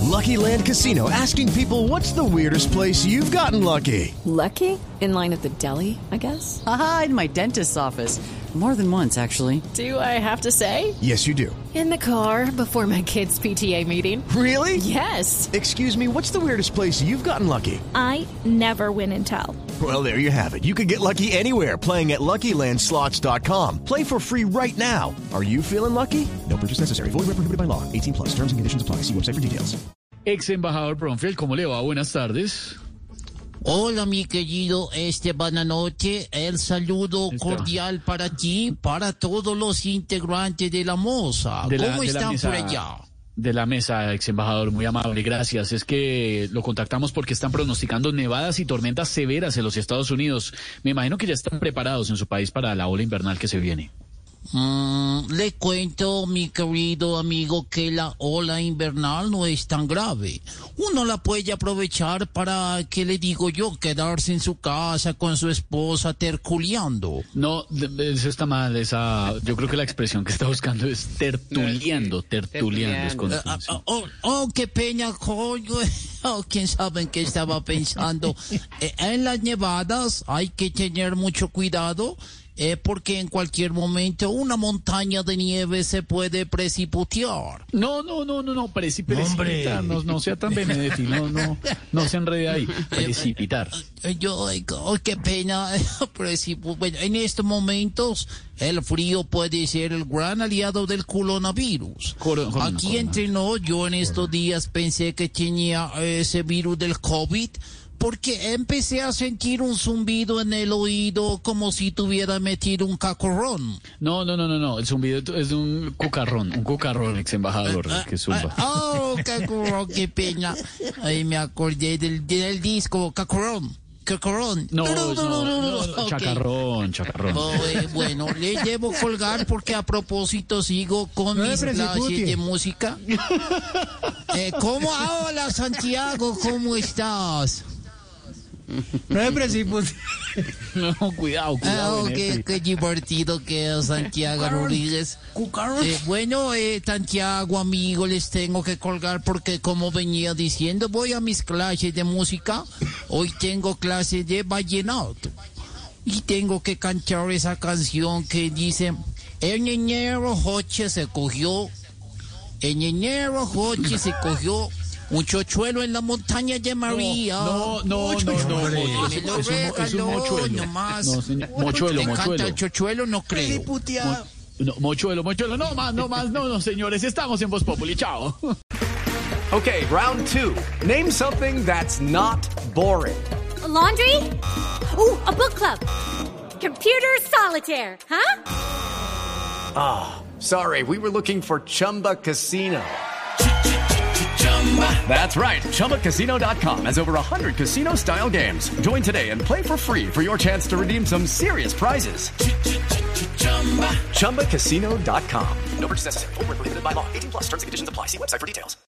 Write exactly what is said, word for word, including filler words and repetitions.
Lucky Land Casino, asking people, what's the weirdest place you've gotten lucky? Lucky? In line at the deli, I guess? Aha, in my dentist's office. More than once, actually. Do I have to say? Yes, you do. In the car before my kids' P T A meeting. Really? Yes. Excuse me, what's the weirdest place you've gotten lucky? I never win and tell. Well, there you have it. You can get lucky anywhere, playing at Lucky Land Slots dot com. Play for free right now. Are you feeling lucky? No purchase necessary. Void where prohibited by law. eighteen plus. Terms and conditions apply. See website for details. Ex embajador Bromfield, ¿cómo le va? Buenas tardes. Hola, mi querido Esteban Anoche, el saludo Esteban. cordial para ti, para todos los integrantes de la Moza. De la- ¿Cómo de la están mesa- por allá? De la mesa, ex embajador, muy amable, gracias. Es que lo contactamos porque están pronosticando nevadas y tormentas severas en los Estados Unidos. Me imagino que ya están preparados en su país para la ola invernal que se viene. Mm, le cuento, mi querido amigo, que la ola invernal no es tan grave. Uno la puede aprovechar para, ¿qué le digo yo? Quedarse en su casa con su esposa terculeando. No, de- de- eso está mal. Esa, yo creo que la expresión que está buscando es tertuliando, tertuliando. Es con- Ah, ah, sí. oh, oh, qué pena, coño. Oh, quién sabe en qué estaba pensando. Eh, en las nevadas hay que tener mucho cuidado. Eh, porque en cualquier momento una montaña de nieve se puede precipitar. No, no, no, no, no, preci- precipitar, no, no sea tan Benedetti, no, no, no se enrede ahí, precipitar. Eh, Yo, ay, oh, qué pena. Precipu- bueno, en estos momentos el frío puede ser el gran aliado del coronavirus. Coro- corona, Aquí corona. entre nos, yo en estos días pensé que tenía eh, ese virus del COVID. Porque empecé a sentir un zumbido en el oído como si tuviera metido un cacorrón. No, no, no, no, no, el zumbido es de un cucarrón, un cucarrón, ex embajador, que zumba. Ah, oh, cacorón, qué pena. Ahí me acordé del, del disco, cacorón, cacorón. No, no, no, no, Ok. chacarrón, chacarrón. Oh, eh, bueno, le debo colgar porque a propósito sigo con No me mis clases precipite. de música. Eh, ¿Cómo? Hola, Santiago, ¿cómo estás? No me precipite. No, cuidado, Ah, cuidado. oh, qué, Benedetti. qué divertido que es Santiago Rodríguez. Eh, bueno, eh, Santiago, amigo, les tengo que colgar porque como venía diciendo, voy a mis clases de música. Hoy tengo clases de vallenato. Y tengo que cantar esa canción que dice, en enero Joche se cogió, en enero Joche se cogió un chochuelo en la montaña de María. No, no, no, no, no, Me es, lo es un, es un regaló mochuelo. nomás. No, señor, mochuelo, ¿Le encanta mochuelo. el chochuelo? No creo. No, mochuelo, mochuelo, no más, no más, no, no, señores, estamos en Voz Populi, chao. Okay, round two. Name something that's not boring. A laundry? Ooh, a book club. Computer solitaire, huh? Sorry, we were looking for Chumba Casino. That's right. Chumba Casino dot com has over one hundred casino-style games. Join today and play for free for your chance to redeem some serious prizes. Chumba Casino dot com. No purchase necessary. Void where prohibited by law. eighteen plus. Terms and conditions apply. See website for details.